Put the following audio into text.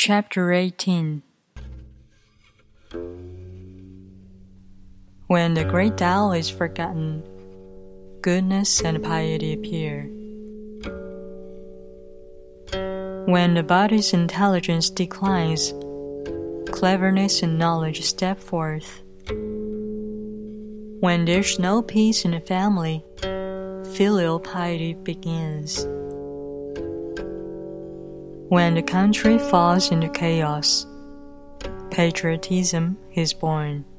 Chapter 18. When the great Tao is forgotten, goodness and piety appear. When the body's intelligence declines, cleverness and knowledge step forth. When there's no peace in the family, filial piety begins. When the country falls into chaos, patriotism is born.